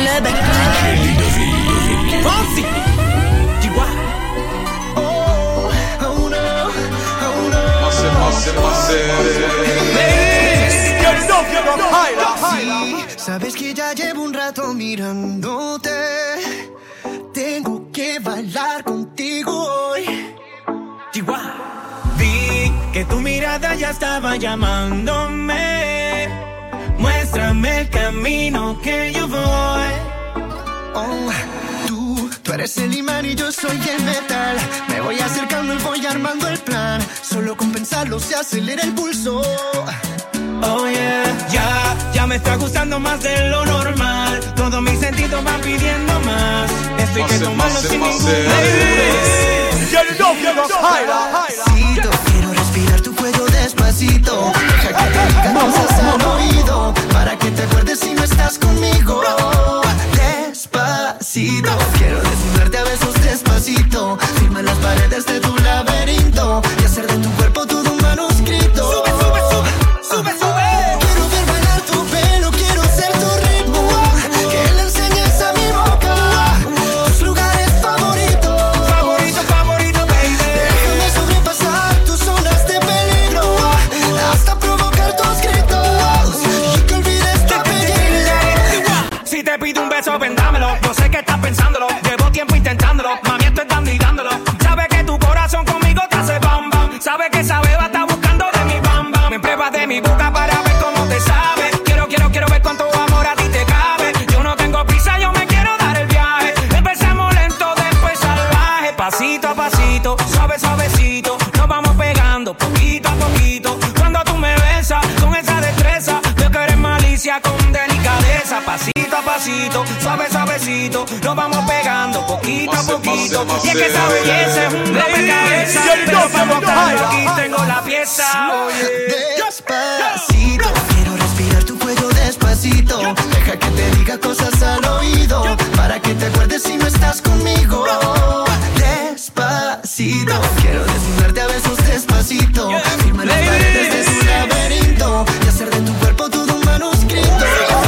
club. Fonsi. Sabes que ya llevo un rato mirándote. Tengo que bailar contigo hoy. Vi que tu mirada ya estaba llamándome. Muéstrame el camino que yo voy. Oh, tú eres el imán y yo soy el metal. Me voy acercando y voy armando el plan. Solo con pensarlo se acelera el pulso. Oh yeah, ya me está gustando más de lo normal. Todos mis sentidos van pidiendo más. Esto hay que tomarlo sin ningún Despacito, quiero respirar tu cuello despacito. Deja que te diga cosas al oído, para que te acuerdes si no estás conmigo. Despacito, quiero desnudarte a besos despacito. Firma las paredes de tu laberinto y hacer de tu cuerpo todo un manuscrito. Sube, sube, sube, sube, sube. Quiero ver bailar tu pelo, quiero ser tu ritmo. Que le enseñes a mi boca tus lugares favoritos. Favorito, favorito, baby. Déjame sobrepasar tus zonas de peligro hasta provocar tus gritos y que olvides tu apellido. Si te pido un beso, vendámelo. Yo sé que estás pensándolo. Llevo tiempo intentándolo. Mami, estoy dando y dándolo. Sabes que tu corazón conmigo te hace bam bam. Sabes que esa beba está buscando de mi bam bam. Me pruebas de mi boca para ver cómo te sabe. Quiero ver cuánto amor a ti te cabe. Yo no tengo prisa, yo me quiero dar el viaje. Empezamos lento, después salvaje. Pasito a pasito, suave, suavecito. Nos vamos pegando poquito a poquito. Cuando tú me besas con esa destreza, veo que eres malicia con delicadeza. Pasito a pasito, suave, suavecito. Nos vamos pegando poquito a poquito. Y es que esa belleza es un rompecabezas. Pero para montarlo aquí tengo la pieza. Despacito, quiero respirar tu cuello despacito. Deja que te diga cosas al oído, para que te acuerdes si no estás conmigo. Despacito, quiero desnudarte a besos despacito. Firma las paredes de tu laberinto y hacer de tu cuerpo todo un manuscrito.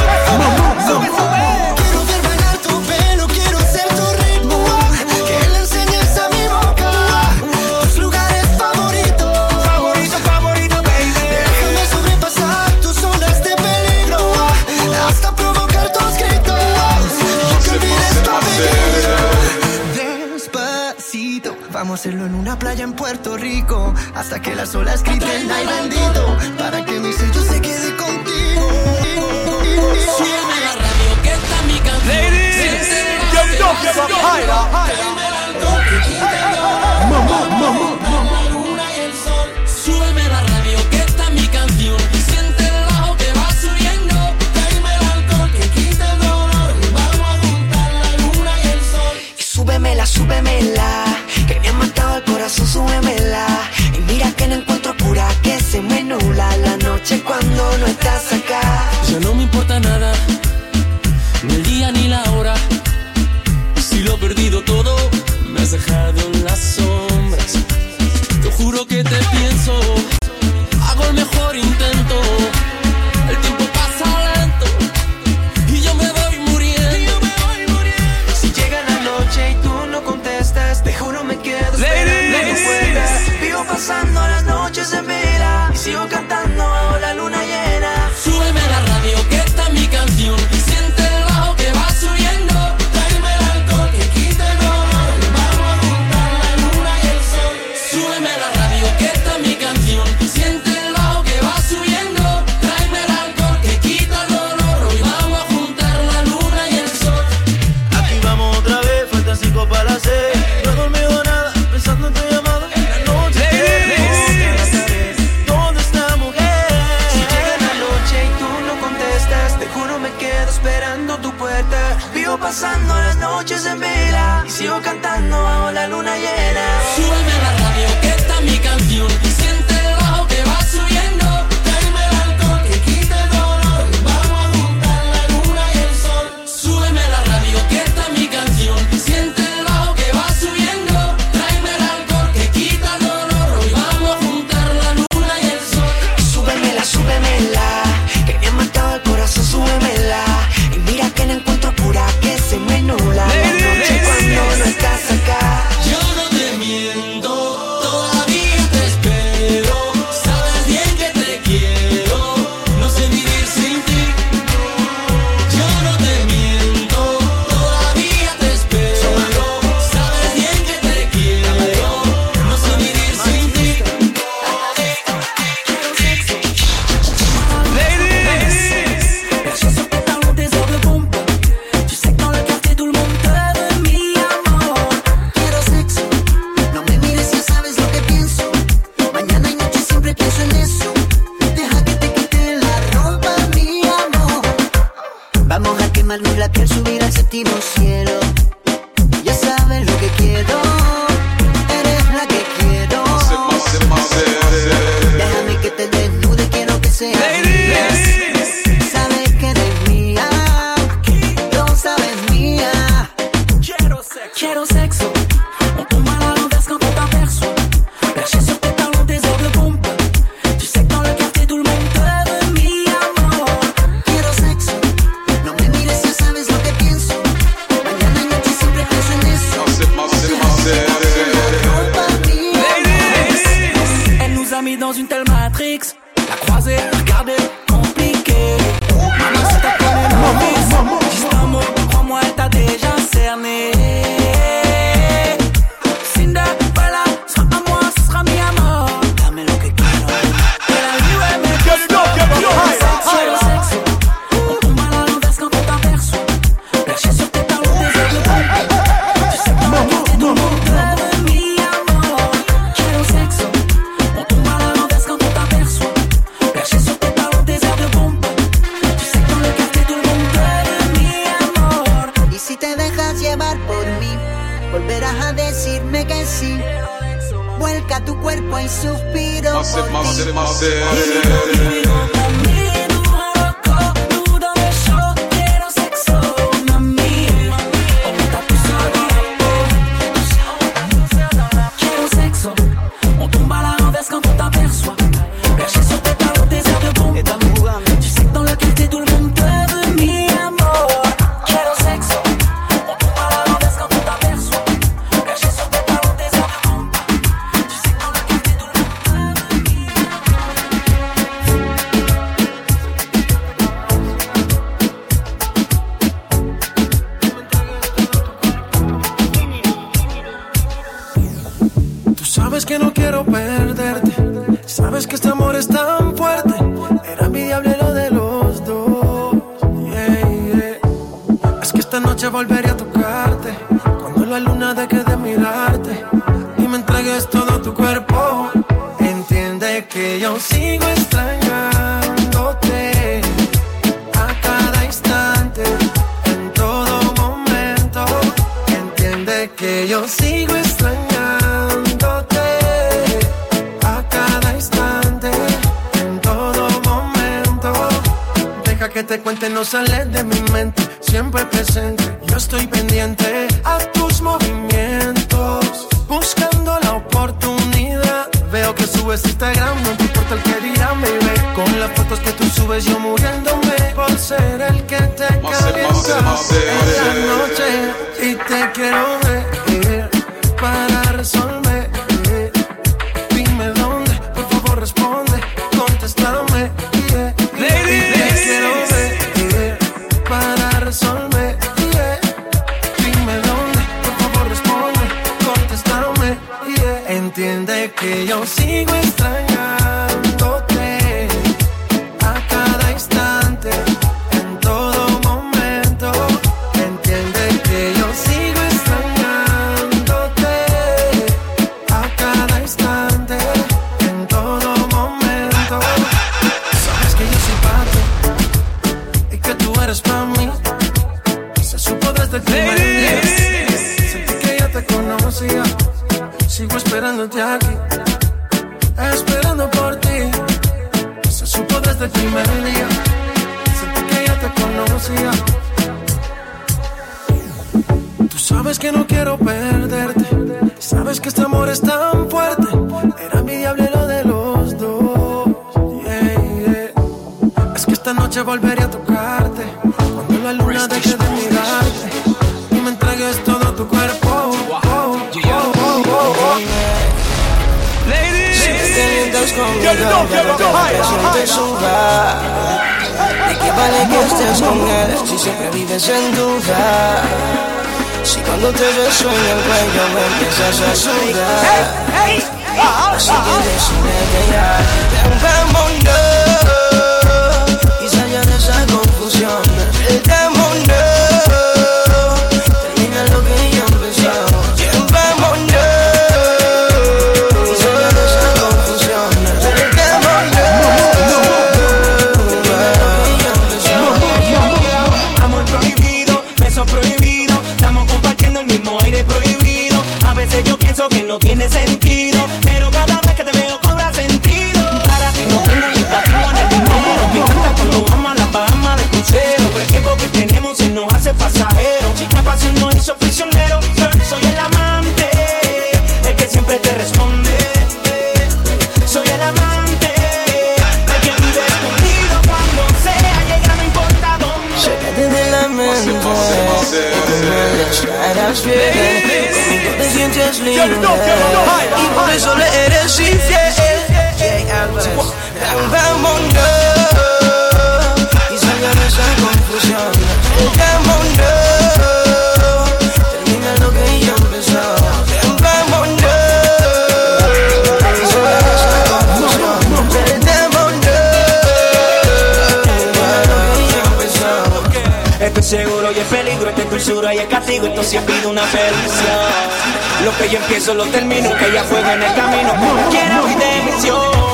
Quiero ver bailar tu pelo, quiero ser tu ritmo. Que le enseñes a mi boca tus lugares favoritos. Favorito, favorito, baby. Déjame sobrepasar tus zonas de peligro hasta provocar tus gritos y que olvides tu apellido. Despacito, vamos a hacerlo en una playa en Puerto Rico hasta que las olas griten ay bendito, para que mi sello se quede contigo. Súbeme la radio que está mi canción. Súbeme la radio que está mi canción. Siente el bajo que va subiendo. Tráeme el alcohol que quita el dolor. Vamos a juntar la luna y el sol. Y súbemela, súbemela, que me ha matado el corazón, súbemela. Y mira que no encuentro cura, que se me nubla la noche cuando no estás acá. Ya no me importa nada, ni el día ni la hora. Si lo he perdido todo, me has dejado en las sombras. Te juro que te pienso, hago el mejor intento. El tiempo pasa lento y yo me voy muriendo. Si llega la noche y tú no contestas, te juro me quedo esperando que vuelvas. Vivo pasando las noches en vela y sigo cantando bajo la luna llena. Sube Matrix. La croisée, regardez, compliqué. Maman, si t'as connu novice, juste un mot, crois-moi, elle t'a déjà cerné. Cinderella, sera à moi, ce sera mi amor. Dame lo que quiero. Que la vie me sexo. On tombe à la renverse quand on t'aperçoit. Perché sur tes talons, des ailes de pompe. Tu sais pas la qualité du monde. Mi amor, quiero sexo. On tombe à la renverse quand on t'aperçoit. Perché sur tes talons, des ailes de pompe. Tu sais que dans le quartier tout le monde t'aime, mi amor. Y si te dejas llevar por mí, volverás a decirme que sí. Vuelca tu cuerpo y suspiro por ti. Sabes que no quiero perderte, sabes que este amor es tan fuerte, era envidiable lo de los dos, yeah, yeah. Es que esta noche volveré a tocarte, cuando la luna deje de mirarte, y me entregues todo tu cuerpo, entiende que yo sigo extrañándote, a cada instante, en todo momento, entiende que yo sigo extrañándote. Que te cuente, no sales de mi mente, siempre presente, yo estoy pendiente a tus movimientos, buscando la oportunidad, veo que subes Instagram, no te importa el que dirán, baby, con las fotos que tú subes yo muriéndome, por ser el que te calienta en la noche, y te quiero ver, para resolver, dime dónde, por favor responde, contéstame, yeah. Entiende que yo sigo extrañándote a cada instante, en todo momento. Entiende que yo sigo extrañándote a cada instante, en todo momento. Sabes que yo soy para ti y que tú eres para mí. Se supo desde el primer día. Sentí que ya te conocía. Sigo esperándote aquí, esperando por ti. Se supo desde el primer día. Sentí que ya te conocía. Tú sabes que no quiero perderte. Sabes que este amor es tan fuerte. Era envidiable lo de los dos. Yeah, yeah. Es que esta noche volveré a tocarte. Cuando la luna deje de mirarte y me entregues todo tu cuerpo. Conmigo, ya no te presentes suba. ¿De qué vale que estés con él si siempre vives en duda? Si cuando te beso en el cuello me empiezas a sudar, así que decime que ya rompámonos y salga de esa confusión. Rompámonos, termina lo que ya empezó. Rompámonos. Yo pienso que no tiene sentido, pero cada vez que te veo cobra sentido. Para ti no tengo ni platino ni dinero. Me encanta cuando vamos a la Bahama de crucero, pero el tiempo que tenemos se nos hace pasajero. Chica, pasión no hizo prisionero. Soy el amante, el que siempre te responde. Soy el amante, el que vive escondido cuando sea llega, no importa dónde. Sácate de la mente, y tú me dejarás bien. Te sientes libre y por eso le eres infiel. Vámonos y salga de esa confusión. Vámonos, termina lo que ya empezó. Vámonos y salga de esa confusión. Esto es seguro y es peligro, esto es dulzura y es castigo, esto sí pido una perdición. Lo que yo empiezo lo termino, que haya fuego en el camino, como quiera voy de misión.